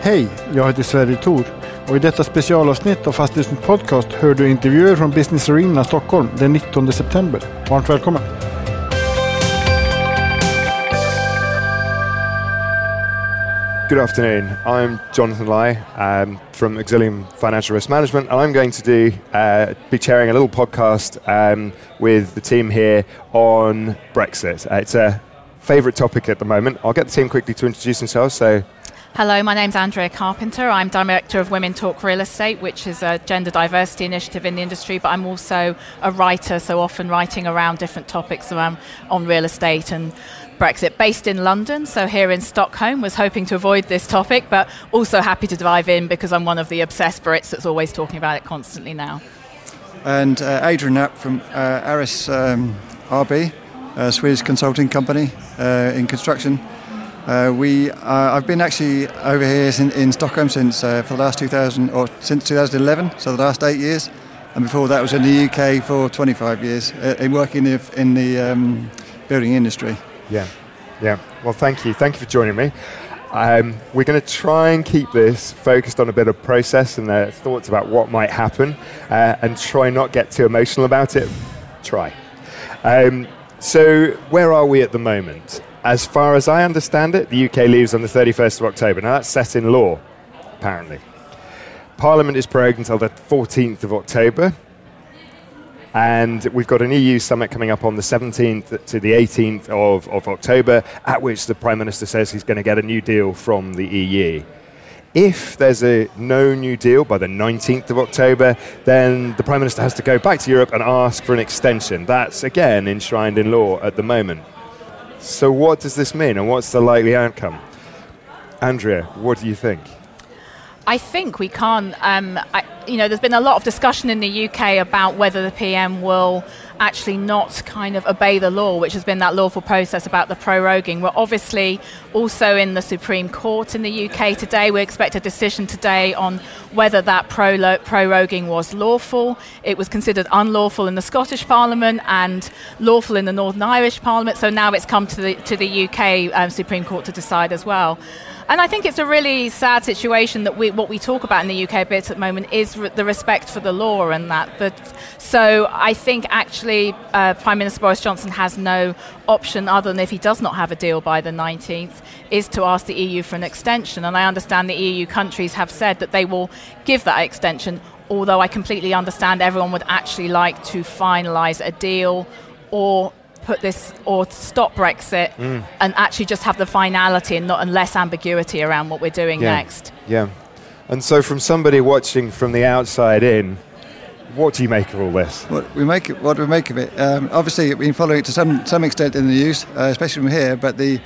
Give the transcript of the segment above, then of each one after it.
Hej, jag heter Sverre Thor och i detta specialavsnitt av Fastighetsnytt Podcast hör du intervjuer från Business Arena Stockholm den 19 september. Varmt välkommen! Good afternoon. I'm Jonathan Lai from Exilium Financial Risk Management, and I'm going to be chairing a little podcast with the team here on Brexit. It's a favourite topic at the moment. I'll get the team quickly to introduce themselves. So, hello, my name's Andrea Carpenter. I'm Director of Women Talk Real Estate, which is a gender diversity initiative in the industry, but I'm also a writer, so often writing around different topics on real estate and Brexit, based in London, so here in Stockholm. Was hoping to avoid this topic, but also happy to dive in because I'm one of the obsessed Brits that's always talking about it constantly now. And Adrian Knapp from Aris RB, a Swedish consulting company in construction. I've been actually over here in Stockholm since for the last since 2011, so the last 8 years, and before that was in the UK for 25 years, in working in the building industry. Yeah. Well, thank you for joining me. We're going to try and keep this focused on a bit of process and thoughts about what might happen, and try not get too emotional about it. Try. So where are we at the moment? As far as I understand it, the UK leaves on the 31st of October. Now that's set in law, apparently. Parliament is prorogued until the 14th of October. And we've got an EU summit coming up on the 17th to the 18th of October, at which the Prime Minister says he's going to get a new deal from the EU. If there's no new deal by the 19th of October, then the Prime Minister has to go back to Europe and ask for an extension. That's, again, enshrined in law at the moment. So what does this mean, and what's the likely outcome? Andrea, what do you think? I think we can't, there's been a lot of discussion in the UK about whether the PM will actually not kind of obey the law, which has been that lawful process about the proroguing. We're obviously also in the Supreme Court in the UK today. We expect a decision today on whether that proroguing was lawful. It was considered unlawful in the Scottish Parliament and lawful in the Northern Irish Parliament, so now it's come to the UK Supreme Court to decide as well. And I think it's a really sad situation that what we talk about in the UK a bit at the moment is the respect for the law and that. But so I think actually Prime Minister Boris Johnson has no option other than, if he does not have a deal by the 19th, is to ask the EU for an extension. And I understand the EU countries have said that they will give that extension, although I completely understand everyone would actually like to finalise a deal or stop Brexit and actually just have the finality and less ambiguity around what we're doing next. Yeah. And so from somebody watching from the outside in, what do you make of all this? What do we make of it? Obviously, we've been following it to some extent in the news, especially from here, but the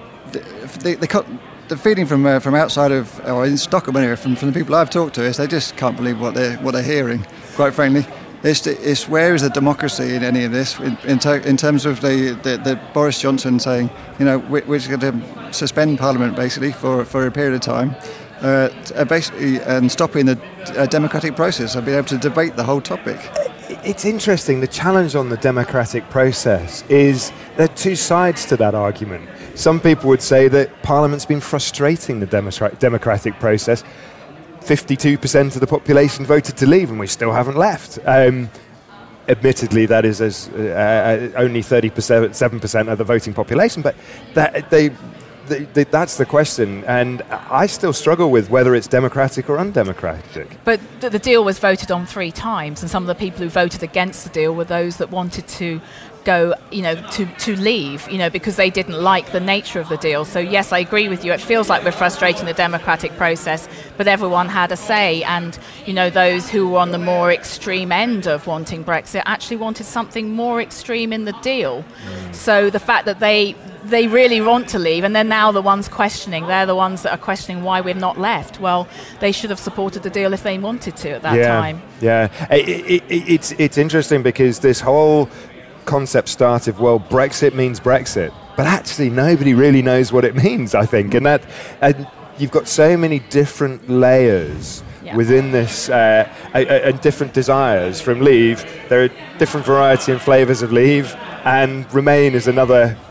feeling from outside of, or in Stockholm anyway, from the people I've talked to, is they just can't believe what they're hearing, quite frankly. It's where is the democracy in any of this? In terms of the Boris Johnson saying, we're going to suspend Parliament basically for a period of time, basically, and stopping the democratic process and being able to debate the whole topic. It's interesting. The challenge on the democratic process is there are two sides to that argument. Some people would say that Parliament's been frustrating the democratic process. 52% of the population voted to leave, and we still haven't left. Admittedly, that is only 7% of the voting population, but that's the question. And I still struggle with whether it's democratic or undemocratic. But the deal was voted on 3 times, and some of the people who voted against the deal were those that wanted to go, to leave, because they didn't like the nature of the deal. So yes, I agree with you. It feels like we're frustrating the democratic process, but everyone had a say. And, those who were on the more extreme end of wanting Brexit actually wanted something more extreme in the deal. So the fact that they really want to leave, and they're now the ones questioning. They're the ones that are questioning why we've not left. Well, they should have supported the deal if they wanted to at that time. Yeah, it's interesting because this whole concept started, Brexit means Brexit, but actually nobody really knows what it means, I think, and you've got so many different layers within this and different desires from leave. There are different variety and flavours of leave, and remain is another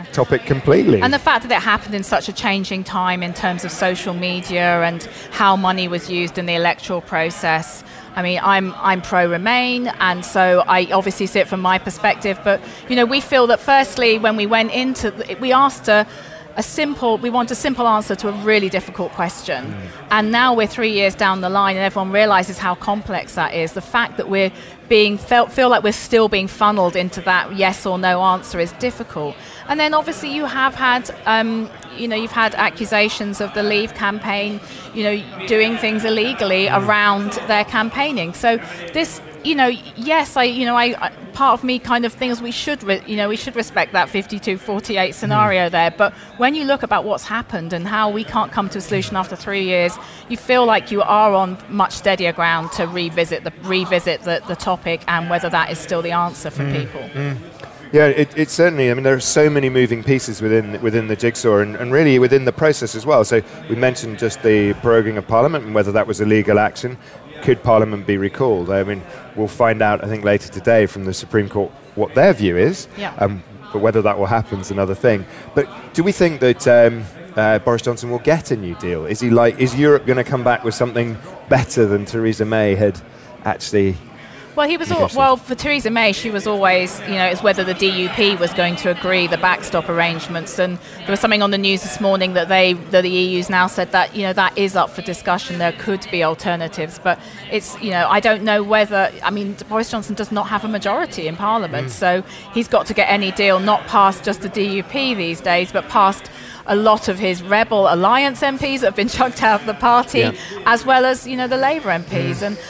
topic completely. And the fact that it happened in such a changing time in terms of social media and how money was used in the electoral process. I mean, I'm pro-Remain, and so I obviously see it from my perspective. But, we feel that firstly, when we went into we asked we want a simple answer to a really difficult question. And now we're 3 years down the line and everyone realizes how complex that is. The fact that we're feel like we're still being funneled into that yes or no answer is difficult. And then obviously you have had, you've had accusations of the Leave campaign, doing things illegally around their campaigning. So this, yes, part of me kind of thinks we should respect that 52-48 scenario there. But when you look about what's happened and how we can't come to a solution after 3 years, you feel like you are on much steadier ground to revisit the topic and whether that is still the answer for people. Yeah, it certainly. I mean, there are so many moving pieces within the jigsaw, and really within the process as well. So we mentioned just the proroguing of Parliament and whether that was a legal action. Could Parliament be recalled? I mean, we'll find out, I think, later today from the Supreme Court what their view is. Yeah. But whether that will happen is another thing. But do we think that Boris Johnson will get a new deal? Is Europe going to come back with something better than Theresa May had actually? Well, for Theresa May, she was always, it's whether the DUP was going to agree the backstop arrangements. And there was something on the news this morning that the EU's now said that, that is up for discussion. There could be alternatives. But it's, I don't know whether, Boris Johnson does not have a majority in Parliament. So he's got to get any deal, not past just the DUP these days, but past a lot of his Rebel Alliance MPs that have been chucked out of the party, as well as, the Labour MPs. And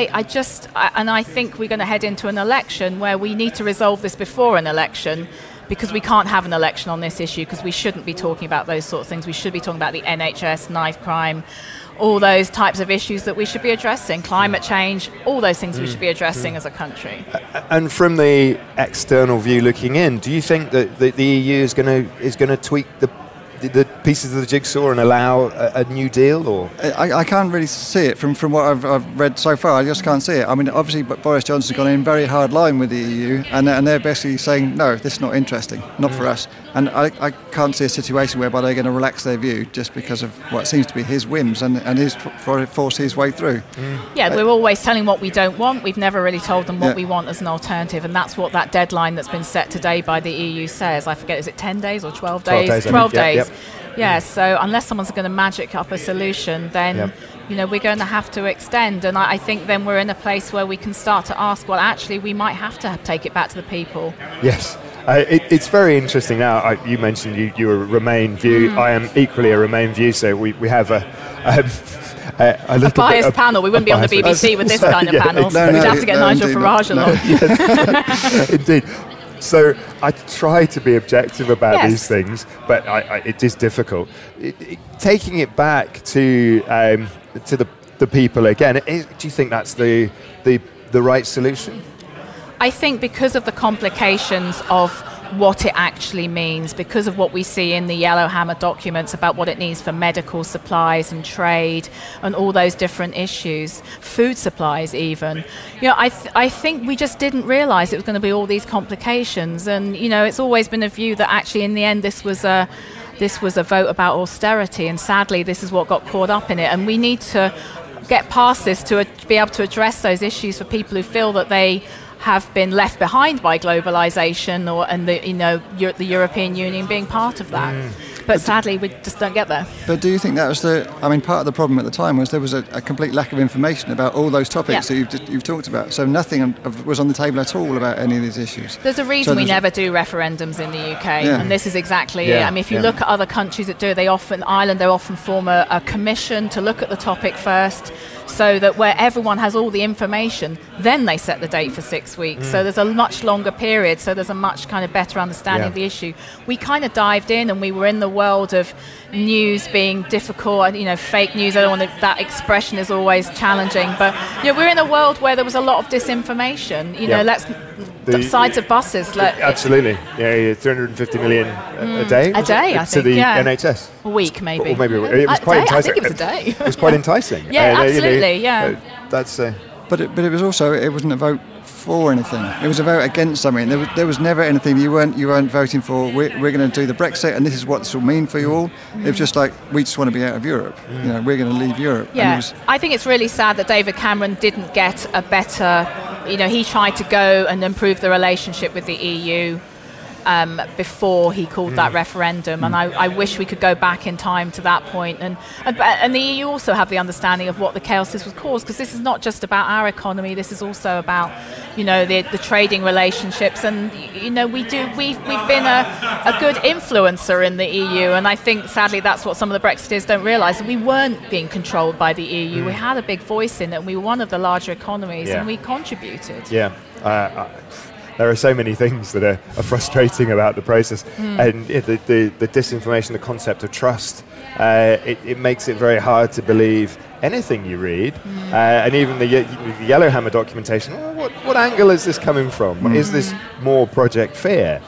I think we're going to head into an election where we need to resolve this before an election, because we can't have an election on this issue, because we shouldn't be talking about those sorts of things. We should be talking about the NHS, knife crime, all those types of issues that we should be addressing, climate change, all those things we should be addressing as a country. And from the external view looking in, do you think that the EU is going to tweak the pieces of the jigsaw and allow a new deal? Or I can't really see it from what I've read so far. I just can't see it. I mean, obviously Boris Johnson's gone in very hard line with the EU, and they're basically saying, no, this is not interesting, not for us. And I can't see a situation whereby they're going to relax their view just because of what seems to be his whims and his force his way through. Yeah, we're always telling what we don't want. We've never really told them what we want as an alternative, and that's what that deadline that's been set today by the EU says. I forget, is it 10 days or 12 days? 12 days. Yep. Yeah, so unless someone's going to magic up a solution, then we're going to have to extend. And I think then we're in a place where we can start to ask, well, actually, we might have to take it back to the people. Yes. It's very interesting now. You mentioned you're a Remain view. I am equally a Remain view, so we have a biased panel. We wouldn't be on the BBC with this kind of panel. Exactly. We'd have to get Nigel Farage along. Yes. Indeed. So I try to be objective about these things, but it is difficult. Taking it back to the people again, do you think that's the right solution? I think because of the complications of what it actually means, because of what we see in the Yellowhammer documents about what it means for medical supplies and trade and all those different issues, food supplies even. I think we just didn't realise it was going to be all these complications. And, it's always been a view that actually in the end this was a vote about austerity, and sadly this is what got caught up in it. And we need to get past this to be able to address those issues for people who feel that they have been left behind by globalization and the European Union being part of that. But sadly, we just don't get there. But do you think that was part of the problem at the time was there was a complete lack of information about all those topics that you've talked about. So nothing was on the table at all about any of these issues. There's a reason we never do referendums in the UK, and this is exactly it. I mean, if you look at other countries that do it, they often form a commission to look at the topic first, so that where everyone has all the information, then they set the date for 6 weeks. So there's a much longer period, so there's a much kind of better understanding of the issue. We kind of dived in and we were in the world of news being difficult, and fake news. I don't want that expression is always challenging, but we're in a world where there was a lot of disinformation. Sides of buses. Absolutely, 350 million a day. A day, I think. To the NHS. A week, maybe. Or maybe it was quite enticing. I think it was a day. It was quite enticing. Absolutely. That's. But it was also, it wasn't a vote for anything. It was a vote against something. There was never anything you weren't voting for. We're going to do the Brexit, and this is what this will mean for you all. It was just like, we just want to be out of Europe. We're going to leave Europe. Yeah, I think it's really sad that David Cameron didn't get a better. He tried to go and improve the relationship with the EU. Before he called that referendum, and I wish we could go back in time to that point. And the EU also have the understanding of what the chaos this was caused, because this is not just about our economy. This is also about, the trading relationships. And we've been a good influencer in the EU, and I think sadly that's what some of the Brexiteers don't realise. We weren't being controlled by the EU. We had a big voice in it. And we were one of the larger economies, and we contributed. Yeah. There are so many things that are frustrating about the process, and the disinformation, the concept of trust, it makes it very hard to believe anything you read, and even the Yellowhammer documentation. What angle is this coming from? Is this more Project Fear?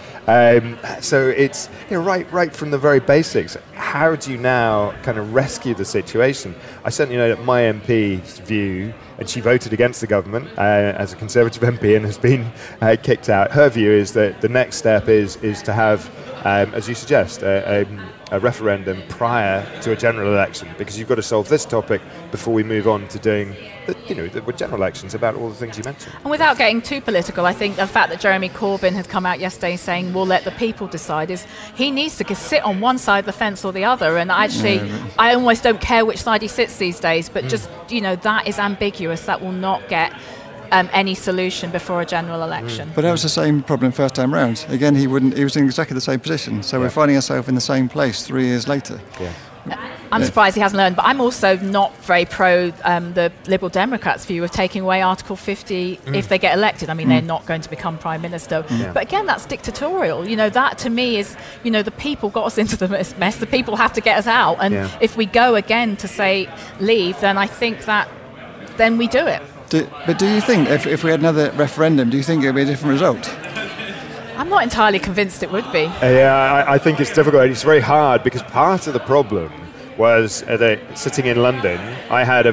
So it's right from the very basics. How do you now kind of rescue the situation? I certainly know that my MP's view, and she voted against the government as a Conservative MP and has been kicked out. Her view is that the next step is to have, as you suggest, a referendum prior to a general election, because you've got to solve this topic before we move on to doing the general elections about all the things you mentioned. And without getting too political, I think the fact that Jeremy Corbyn has come out yesterday saying we'll let the people decide is he needs to sit on one side of the fence or the other. And actually, I almost don't care which side he sits these days, but just, that is ambiguous. That will not get any solution before a general election. But that was the same problem first time round. Again, he was in exactly the same position. So we're finding ourselves in the same place 3 years later. Yeah. I'm surprised he hasn't learned, but I'm also not very pro the Liberal Democrats' view of taking away Article 50 if they get elected. I mean, they're not going to become Prime Minister. But again, that's dictatorial. That to me is, the people got us into the mess. The people have to get us out. And if we go again to say leave, then I think that then we do it. But do you think, if we had another referendum, do you think it would be a different result? I'm not entirely convinced it would be. I think it's difficult. It's very hard, because part of the problem was sitting in London, I had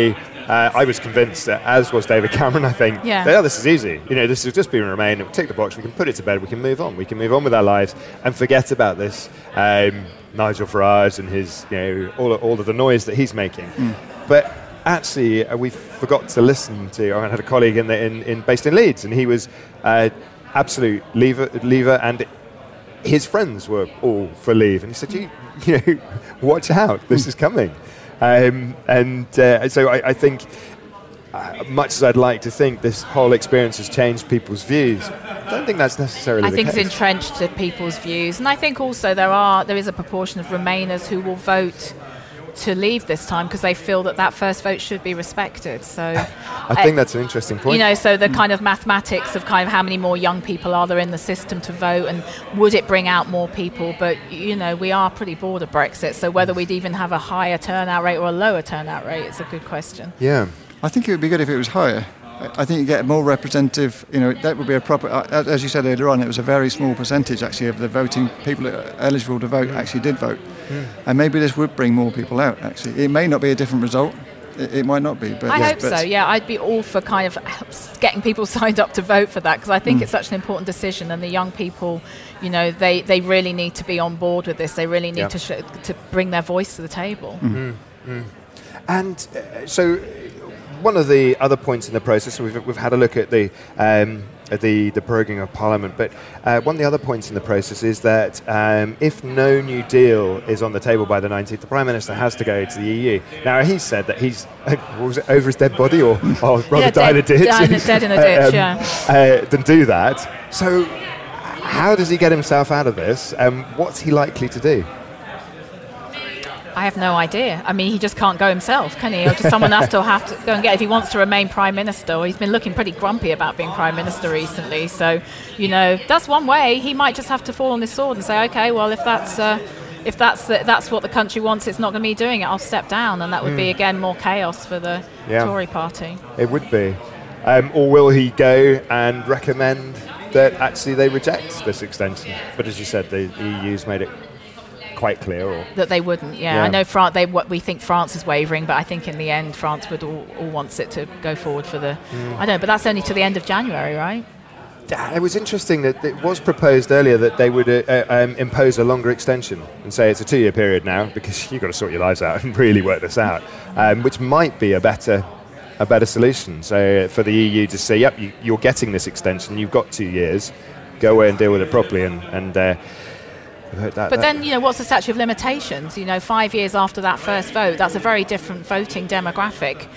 I was convinced, as was David Cameron, I think, this is easy. This has just been Remain. We'll tick the box. We can put it to bed. We can move on. We can move on with our lives and forget about this Nigel Farage and his, all of the noise that he's making. But actually, we forgot to listen to. I had a colleague based in Leeds, and he was absolute leaver, and his friends were all for leave. And he said, watch out, this is coming. So I think, much as I'd like to think this whole experience has changed people's views, I don't think that's necessarily the case. I think it's entrenched to people's views, and I think also there is a proportion of Remainers who will vote to leave this time because they feel that first vote should be respected. So I think that's an interesting point. So the kind of mathematics of kind of how many more young people are there in the system to vote, and would it bring out more people? But we are pretty bored of Brexit, so whether we'd even have a higher turnout rate or a lower turnout rate, it's a good question. Yeah, I think it would be good if it was higher. I think you get a more representative, that would be a proper, as you said earlier on, it was a very small percentage actually of the voting people that are eligible to vote actually did vote. And maybe this would bring more people out actually. It may not be a different result. It might not be. But I hope so, yeah. I'd be all for kind of getting people signed up to vote for that, because I think it's such an important decision, and the young people, they really need to be on board with this. They really need to bring their voice to the table. And so one of the other points in the process, we've had a look at the proroguing of Parliament, but one of the other points in the process is that if no new deal is on the table by the 19th, the Prime Minister has to go to the EU. Now, he said that he's was it over his dead body, or rather died in a ditch? Dead in a ditch, than do that. So how does he get himself out of this? What's he likely to do? I have no idea. I mean, he just can't go himself, can he? Or just someone else will have to go and get, if he wants to remain Prime Minister. He's been looking pretty grumpy about being Prime Minister recently. So, that's one way. He might just have to fall on his sword and say, okay, well, if that's what the country wants, it's not going to be doing it. I'll step down, and that would be again more chaos for the Tory party. It would be. Or will he go and recommend that actually they reject this extension? But as you said, the EU's made it quite clear, or that they wouldn't. Yeah, I know we think France is wavering, but I think in the end France would all wants it to go forward for the. I don't know, but that's only to the end of January, right? It was interesting that it was proposed earlier that they would impose a longer extension and say it's a 2-year period now because you've got to sort your lives out and really work this out, which might be a better solution. So for the EU to say, yep, you're getting this extension, you've got 2 years, go away and deal with it properly, and but then, what's the statute of limitations? 5 years after that first vote, that's a very different voting demographic,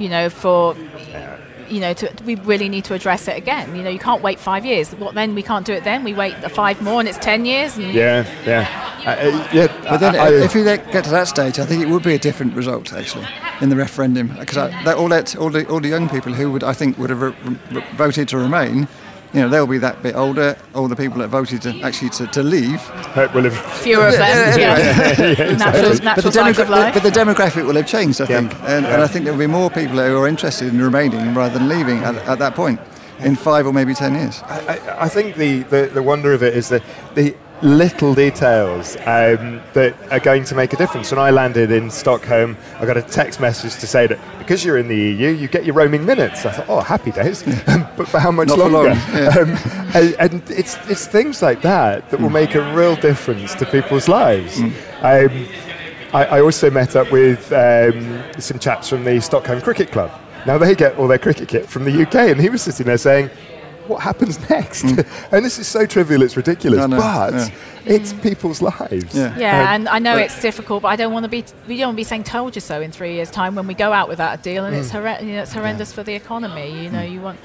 we really need to address it again. You can't wait 5 years. What then? We can't do it then. We wait 5 more and it's 10 years. But then if we get to that stage, I think it would be a different result, actually, in the referendum. Because all the young people who would have voted to remain, they'll be that bit older. All the people that voted to leave, will have fewer of them. Natural cycle of life. But the demographic will have changed, I think, and I think there will be more people who are interested in remaining rather than leaving at that point in 5 or maybe 10 years. I think the wonder of it is that the little details that are going to make a difference. When I landed in Stockholm, I got a text message to say that because you're in the EU, you get your roaming minutes. I thought, happy days, but for how much Not longer? For long. And it's things like that will make a real difference to people's lives. I also met up with some chaps from the Stockholm Cricket Club. Now they get all their cricket kit from the UK, and he was sitting there saying, what happens next? And this is so trivial, it's ridiculous, but it's people's lives. And I know it's difficult, but we don't want to be saying "told you so" in 3 years' time when we go out without a deal, and it's horrendous for the economy. You want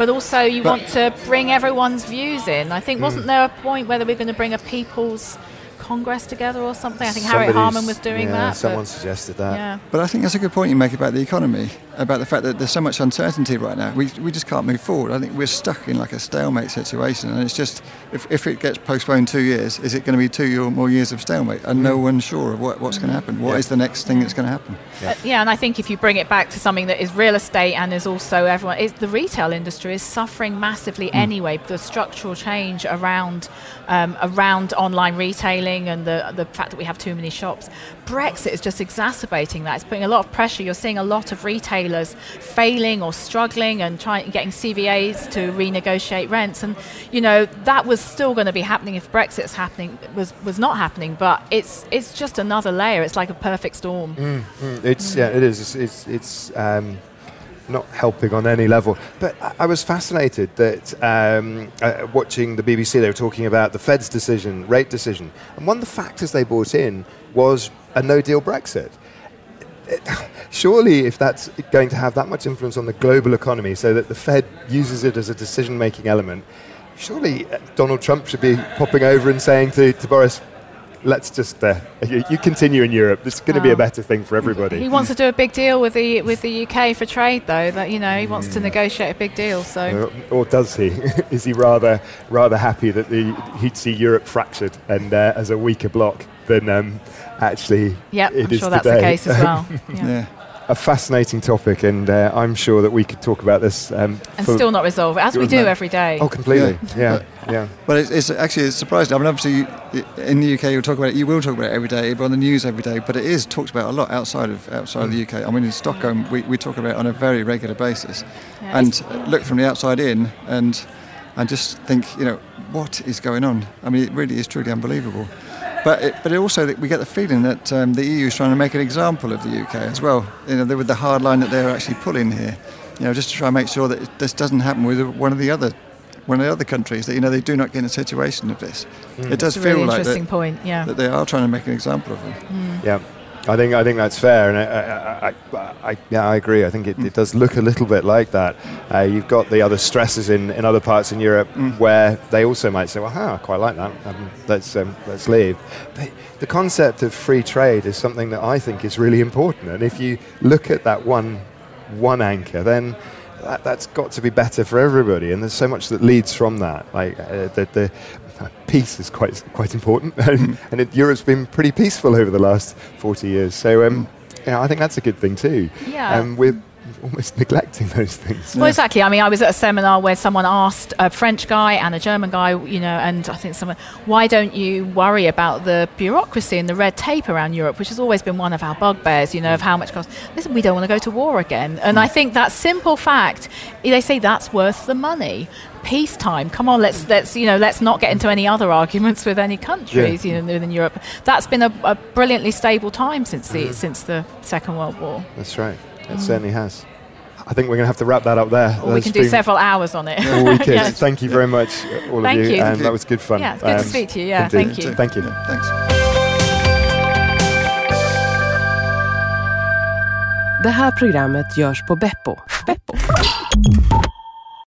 to bring everyone's views in. I think wasn't there a point whether we're going to bring a people's Congress together or something? I think Harriet Harman was doing that. Someone suggested that. Yeah. But I think that's a good point you make about the economy, about the fact that there's so much uncertainty right now. We just can't move forward. I think we're stuck in like a stalemate situation, and it's just, if it gets postponed 2 years, is it going to be 2 more years of stalemate? And no one's sure of what's going to happen. What is the next thing that's going to happen? And I think if you bring it back to something that is real estate and is also the retail industry is suffering massively anyway. The structural change around online retailing and the fact that we have too many shops. Brexit is just exacerbating that. It's putting a lot of pressure. You're seeing a lot of retailers failing or struggling and getting CVAs to renegotiate rents. And, that was still going to be happening if Brexit's was not happening. But it's just another layer. It's like a perfect storm. It is. It's not helping on any level. But I was fascinated that watching the BBC, they were talking about the Fed's rate decision. And one of the factors they brought in was a no-deal Brexit. Surely if that's going to have that much influence on the global economy so that the Fed uses it as a decision-making element, surely Donald Trump should be popping over and saying to Boris, let's just you continue in Europe. It's going to be a better thing for everybody. He wants to do a big deal with the UK for trade, though. That he wants to negotiate a big deal. So, or does he? Is he rather happy that he'd see Europe fractured and as a weaker bloc than actually? Yeah, I'm sure that's the case as well. Yeah. A fascinating topic, and I'm sure that we could talk about this and still not resolve it, as we do every day. Oh, completely. Yeah. But it's surprising. I mean, obviously, in the UK, you will talk about it every day, on the news every day. But it is talked about a lot outside of the UK. I mean, in Stockholm, we talk about it on a very regular basis, and look from the outside in, and just think, what is going on? I mean, it really is truly unbelievable. But also we get the feeling that the EU is trying to make an example of the UK as well. With the hard line that they're actually pulling here, just to try and make sure that this doesn't happen with one of the other countries. That they do not get in a situation of this. It does feel really like interesting point. Yeah. That they are trying to make an example of them. Yeah. I think that's fair, and I agree. I think it does look a little bit like that. You've got the other stresses in other parts in Europe where they also might say, "Well, I quite like that. Let's leave." But the concept of free trade is something that I think is really important, and if you look at that one anchor, then that's got to be better for everybody. And there's so much that leads from that, like the peace is quite important, and Europe's been pretty peaceful over the last 40 years. So, I think that's a good thing too. Yeah. almost neglecting those things. Well, exactly. I mean, I was at a seminar where someone asked a French guy and a German guy, and I think someone, why don't you worry about the bureaucracy and the red tape around Europe, which has always been one of our bugbears, of how much cost. Listen, we don't want to go to war again. And I think that simple fact, they say that's worth the money. Peacetime. Come on, let's not get into any other arguments with any countries, within Europe. That's been a brilliantly stable time since the Second World War. That's right. It certainly has. I think we're going to have to wrap that up there. Or we can do several hours on it. We could. Yes. Thank you very much, all of you. And that was good fun. Yeah, it's good to speak to you. Yeah, indeed. Thank you. Thank you. Yeah, thanks. Det här programmet görs på Beppo.